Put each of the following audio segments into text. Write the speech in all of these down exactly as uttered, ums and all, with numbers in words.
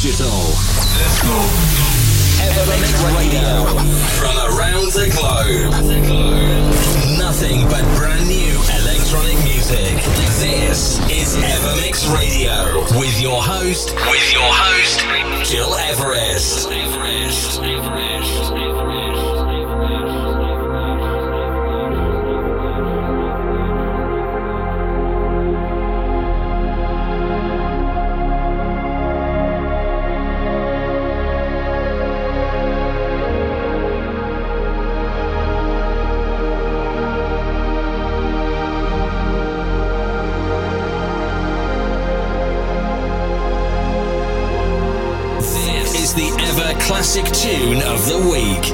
digital. Let's go. Evermix Radio. From around the globe. Nothing but brand new electronic music. This is Evermix Radio. With your host, with your host, Gil Everest. Everest. Everest. The ever classic tune of the week.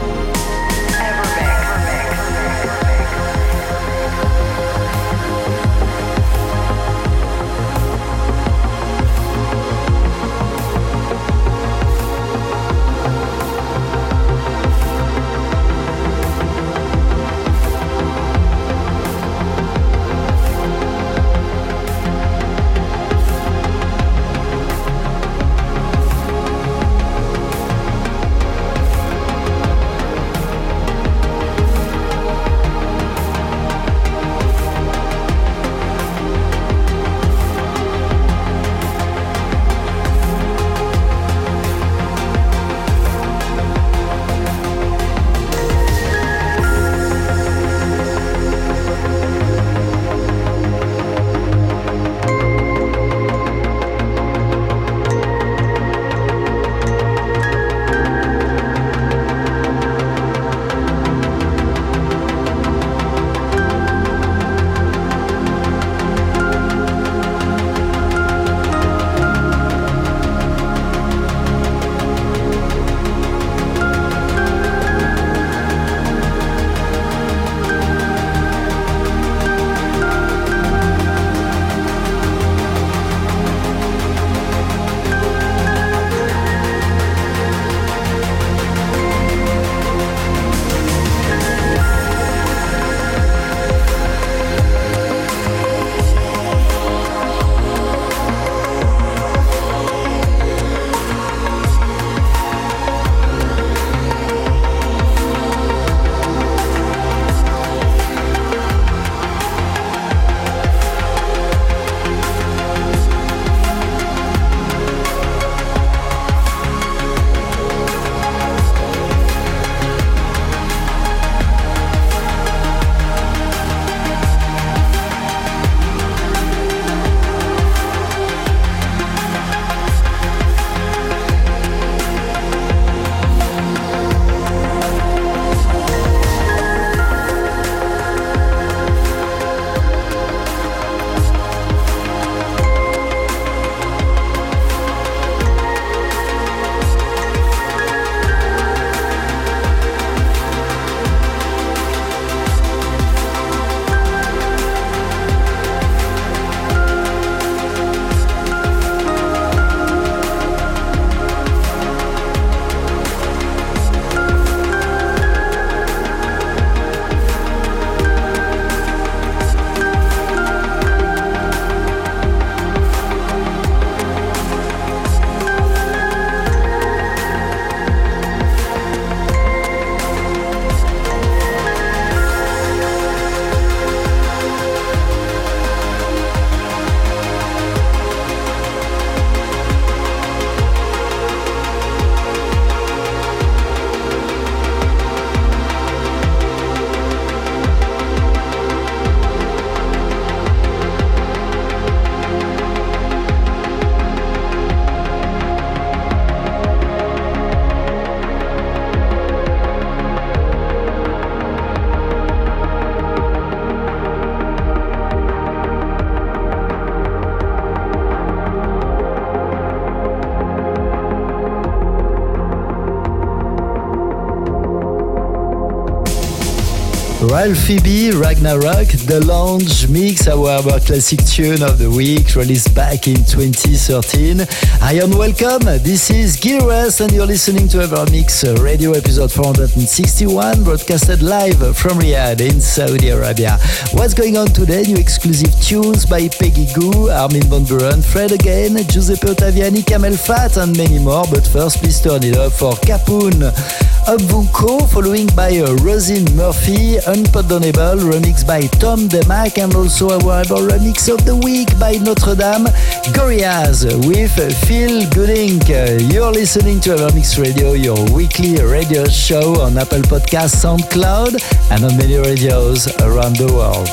Ralphie B, Ragnarok, the Lounge Mix, our classic tune of the week, released back in twenty thirteen. Hi and welcome, this is Gil Everest and you're listening to Evermix Radio episode four hundred sixty-one, broadcasted live from Riyadh in Saudi Arabia. What's going on today? New exclusive tunes by Peggy Gou, Armin van Buuren, Fred again, Giuseppe Ottaviani, Kamel Fat and many more. But first, please turn it up for Capoon Ubunko, following by uh, Rosin Murphy, Unpardonable, remixed by Tom DeMac, and also a variable remix of the week by Notre Dame, Gorillaz with Phil Gooding. Uh, you're listening to Evermix Radio, your weekly radio show on Apple Podcasts, SoundCloud, and on many radios around the world.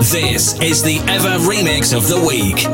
This is the Ever Remix of the Week.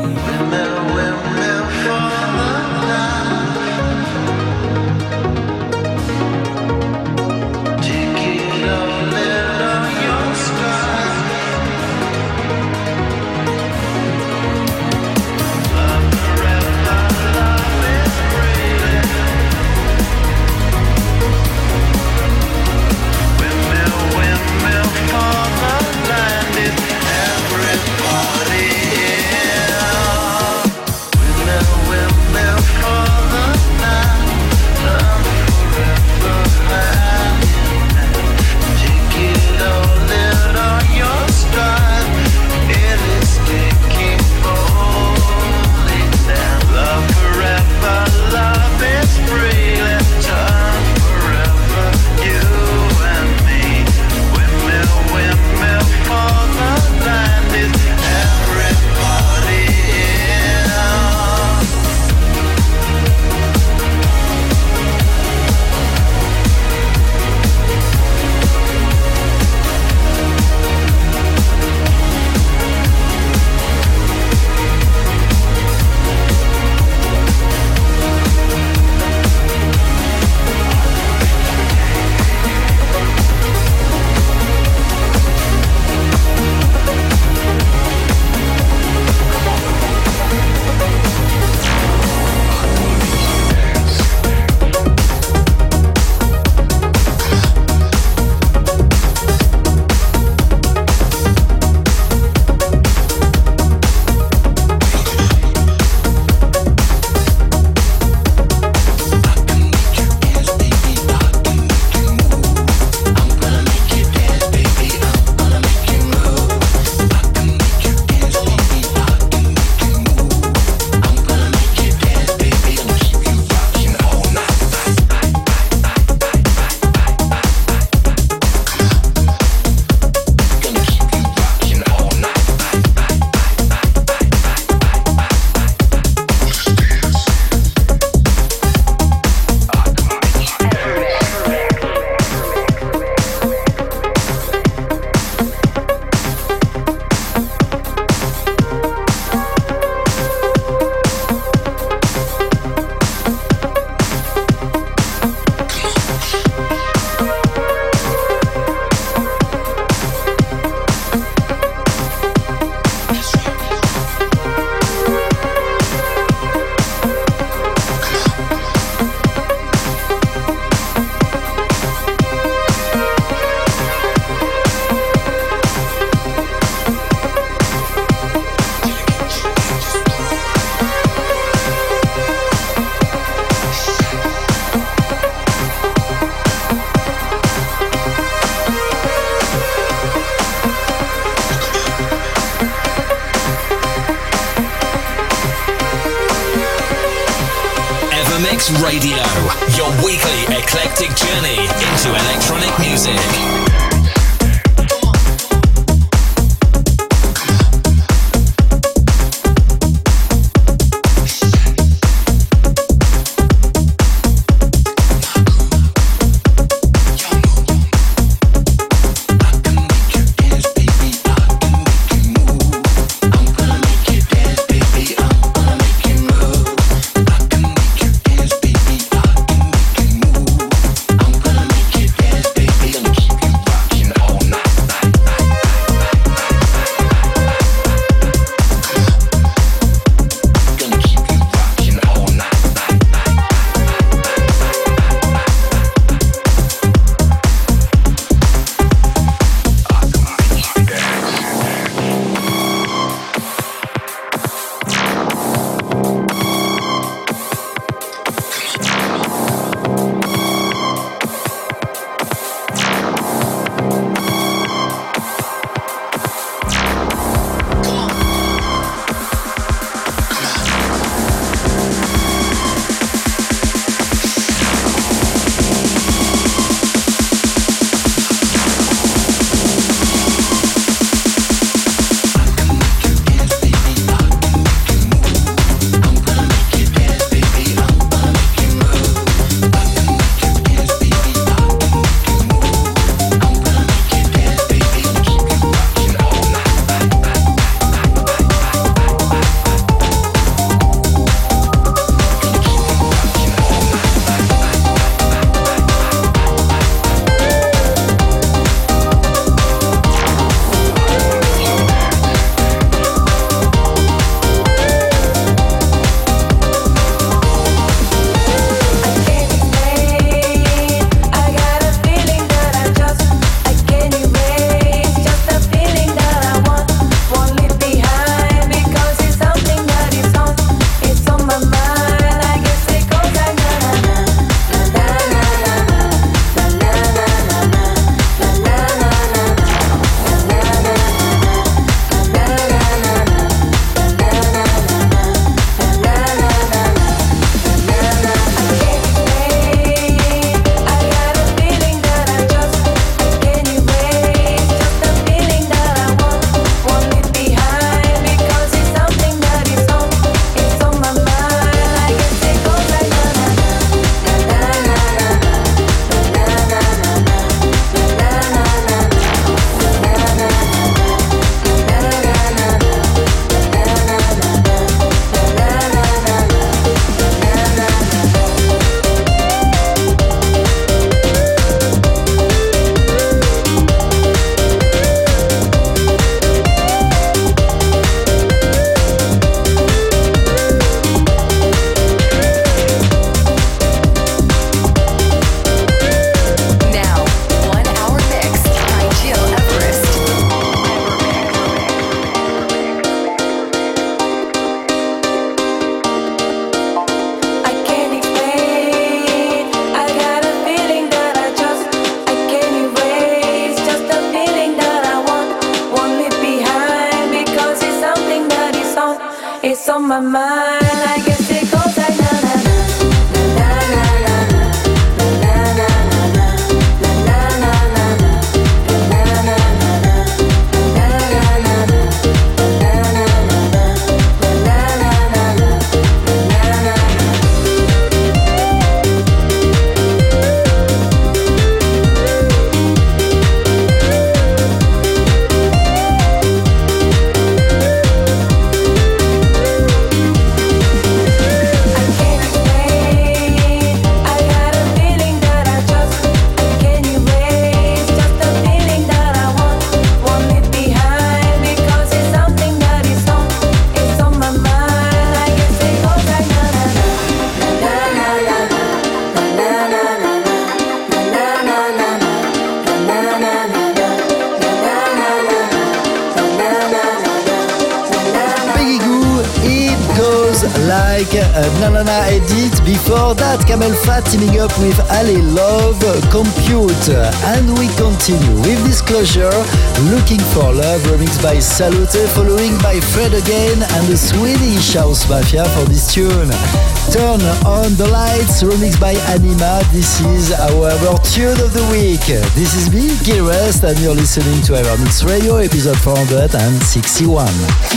Radio, your weekly eclectic journey into electronic music. Keep on my mind. I guess it goes like na na na na na na na na na na na na na na like a Nanana edit. Before that, Camel Fat teaming up with Ali Love, Compute. And we continue with Disclosure, Looking for Love, remixed by Salute, following by Fred Again and the Swedish House Mafia for this tune. Turn on the Lights, remixed by Anima. This is our, our tune of the week. This is me, Gil Rest, and you're listening to our Mix Radio, episode four hundred sixty-one.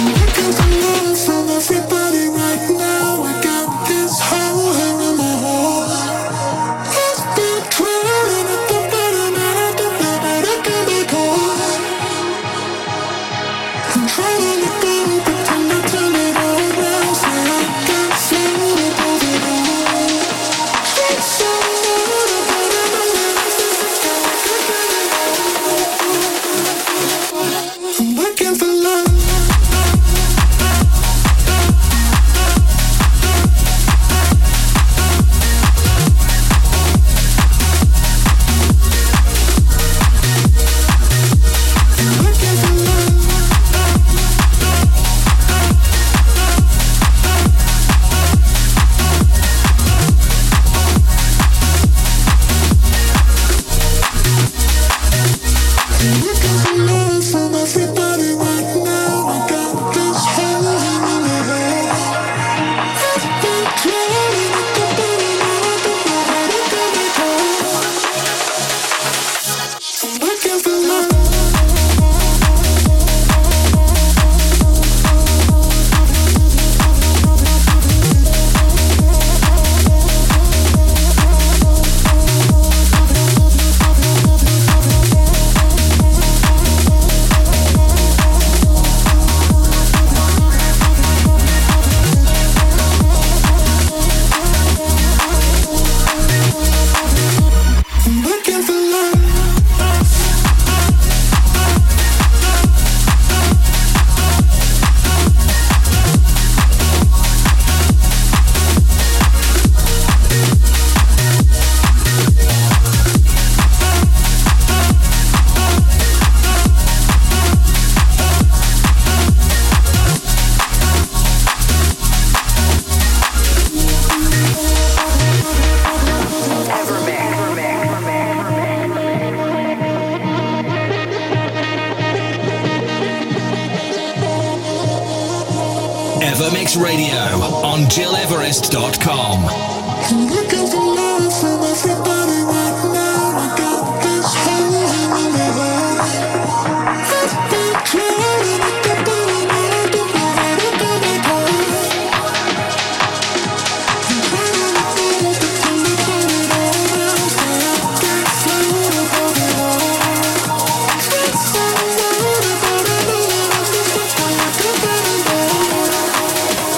Evermix Radio on Gil Everest dot com.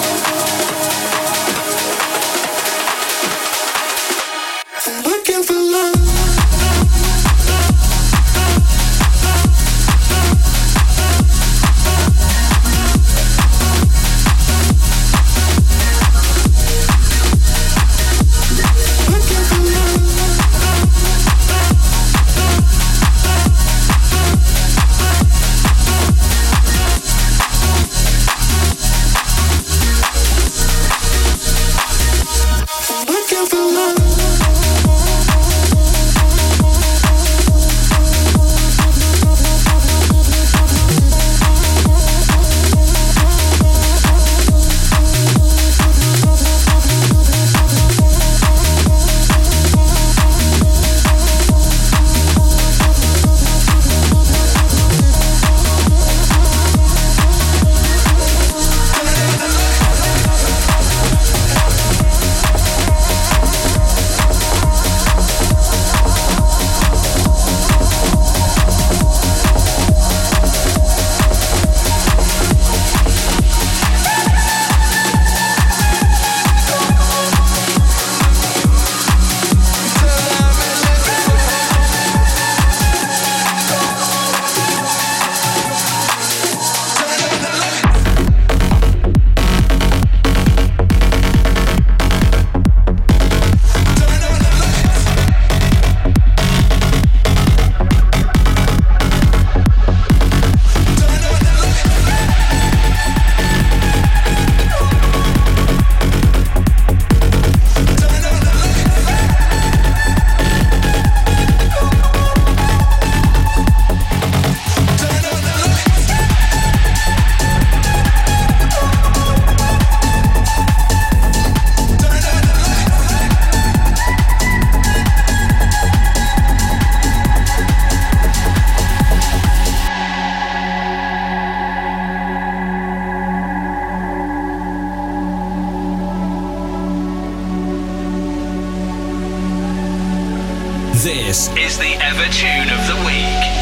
Looking for love. This is the Ever Tune of the Week.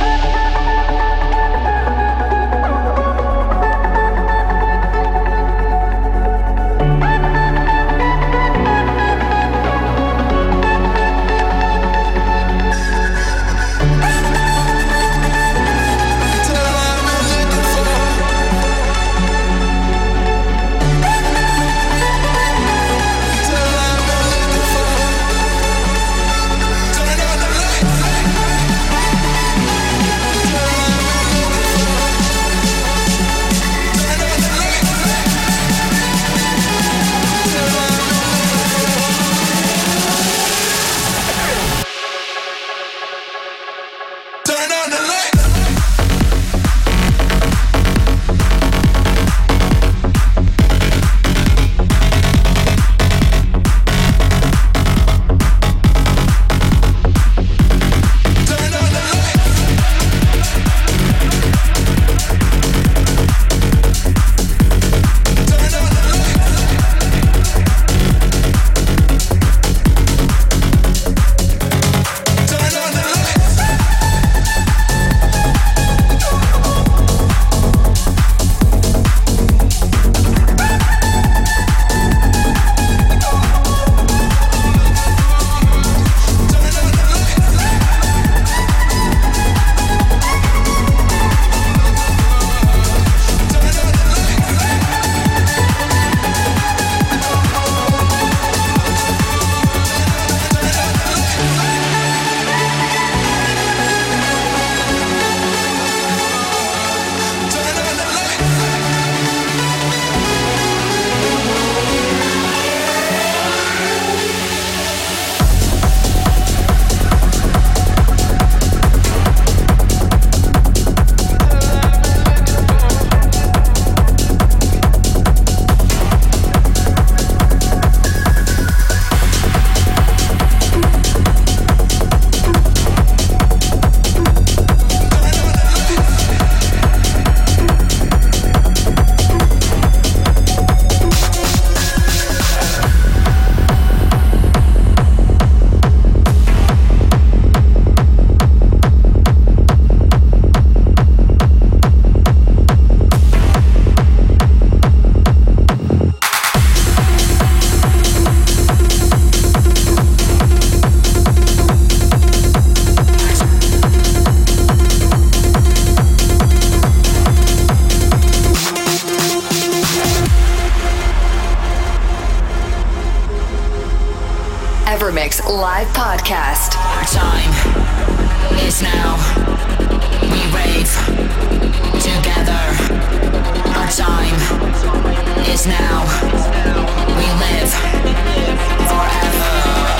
Evermix live podcast. Our time is now. We rave together. Our time is now. We live forever.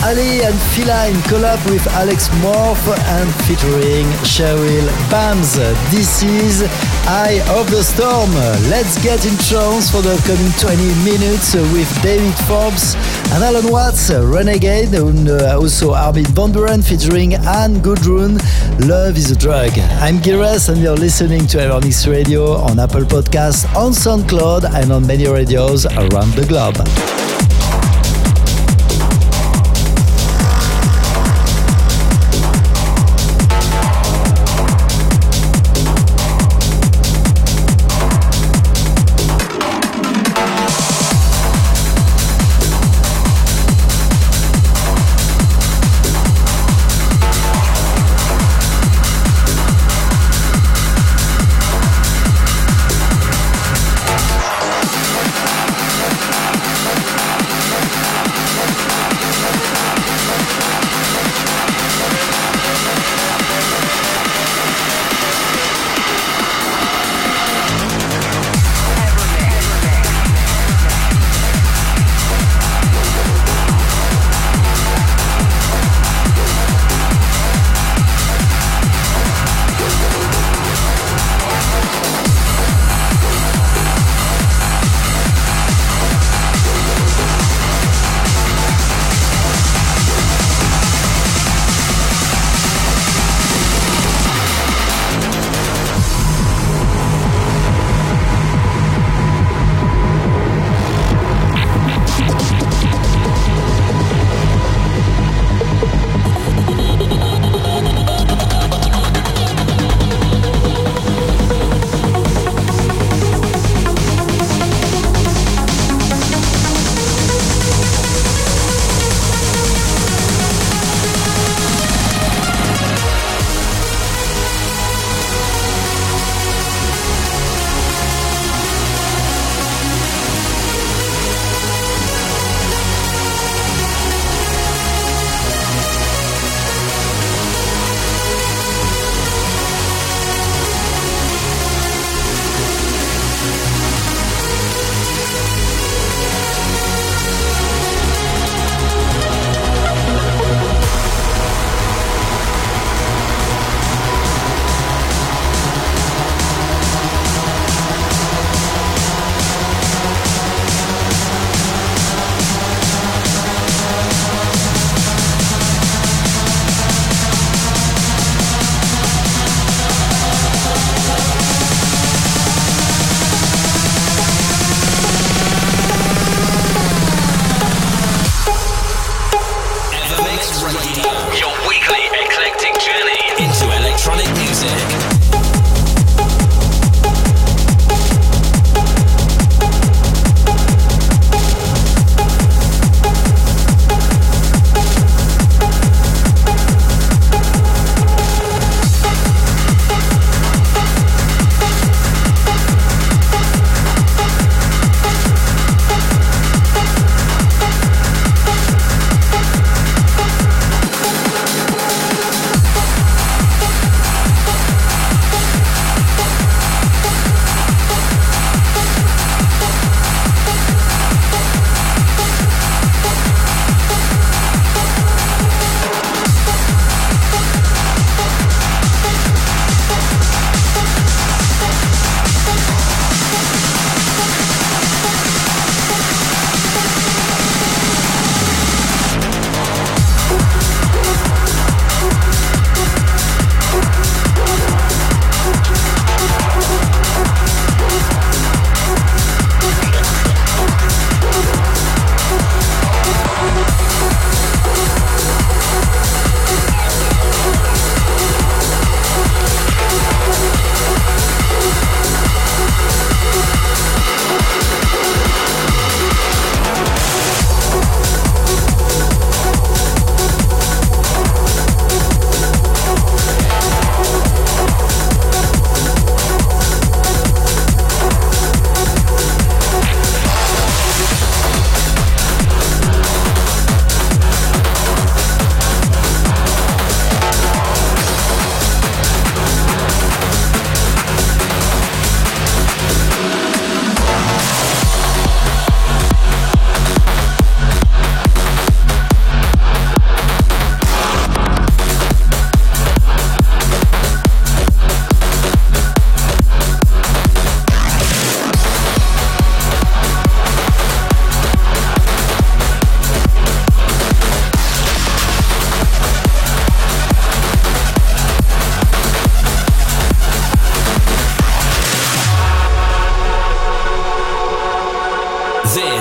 Ali and Fila in collab with Alex Morph and featuring Cheryl Bams. This is Eye of the Storm. Let's get in trance for the upcoming twenty minutes with David Forbes and Alan Watts, Renegade, and also Armin van Buuren featuring Anne Gudrun. Love is a drug. I'm Gires and you're listening to Evermix Radio on Apple Podcasts, on SoundCloud and on many radios around the globe.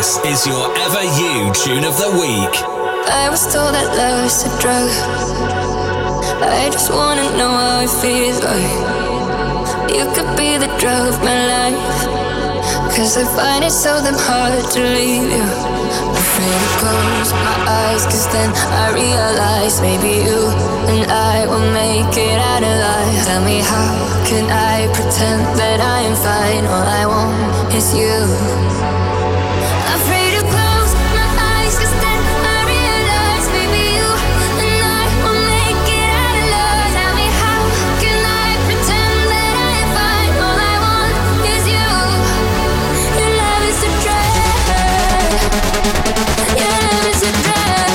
This is your Ever You Tune of the Week. I was told that love is a drug. I just wanna know how it feels like. You could be the drug of my life, 'cause I find it so damn hard to leave you. Afraid to close my eyes, 'cause then I realize maybe you and I will make it out alive. Tell me, how can I pretend that I am fine? All I want is you. Afraid to close my eyes, 'cause then I realize maybe you and I will make it out alive. Tell me, how can I pretend that I am fine? All I want is you. Your love is a drug. Your love is a drug.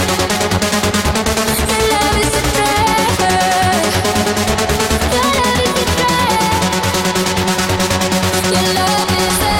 Your love is a drug. Your love is a drug. Your love is a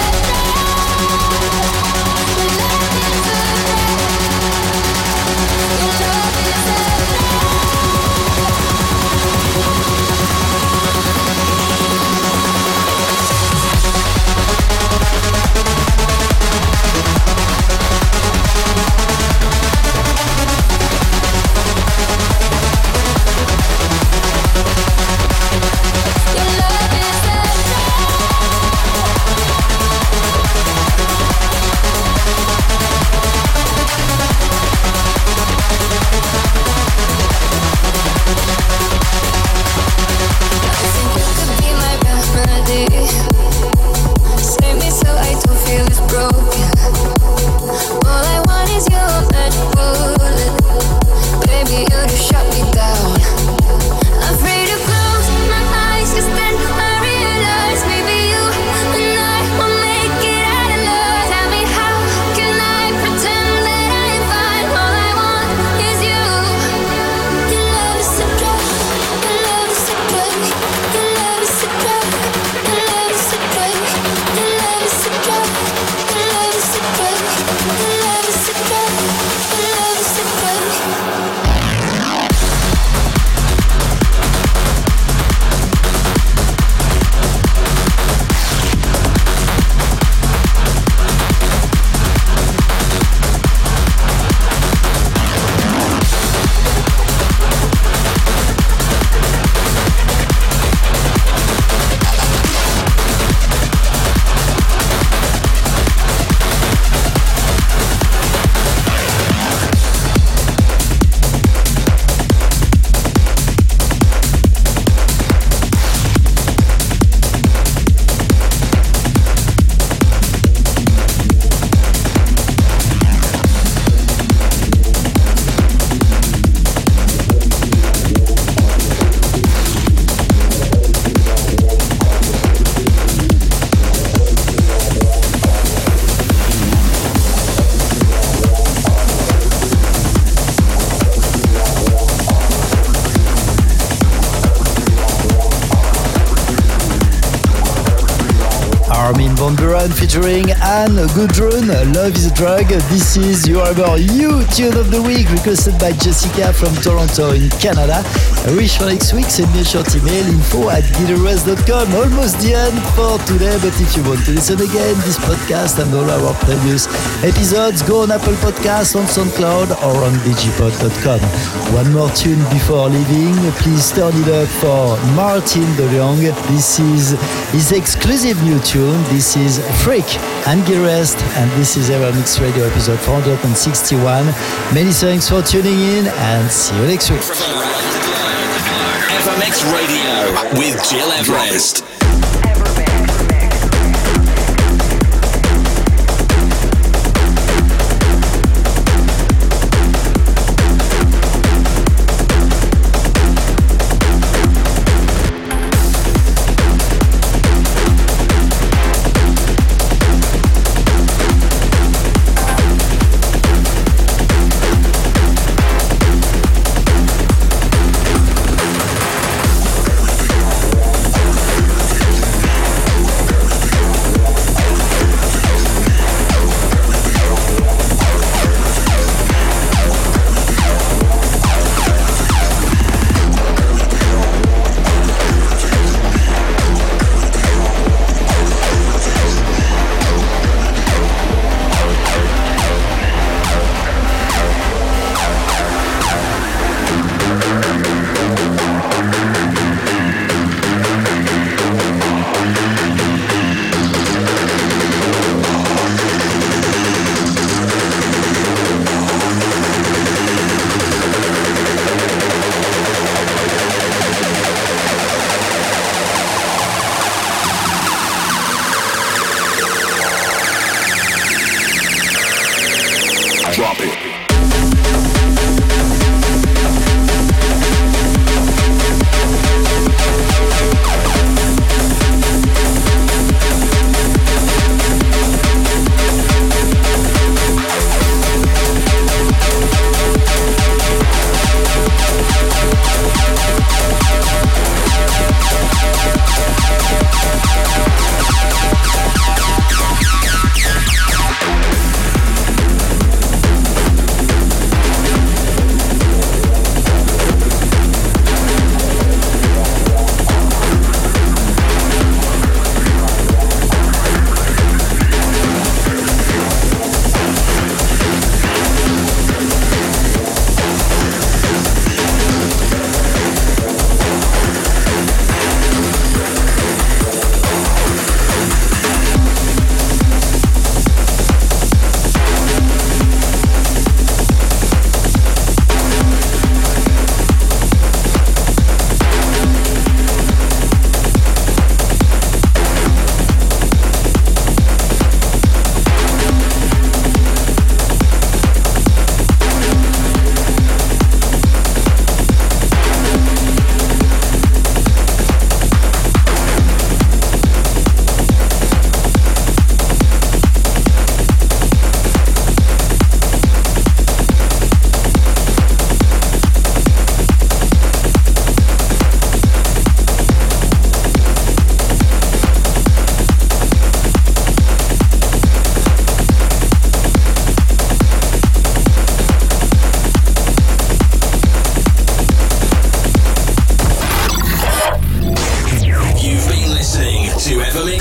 Armin van Buuren featuring Anne Gudrun, Love is a Drug. This is your Ever You Tune of the Week, requested by Jessica from Toronto in Canada. I wish for next week, send me a short email, info at guitarist dot com. Almost the end for today, but if you want to listen again, this podcast and all our previous episodes, go on Apple Podcasts, on SoundCloud, or on digipod dot com. One more tune before leaving. Please turn it up for Martin de Jong. This is his exclusive new tune. This is Freak and Guitarist, and this is Evermix Radio episode four hundred sixty-one. Many thanks for tuning in, and see you next week. Evermix Radio with Gil Everest.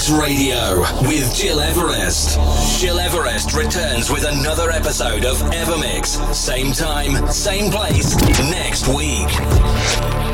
Evermix Radio with Gil Everest. Gil Everest returns with another episode of Evermix. Same time, same place, next week.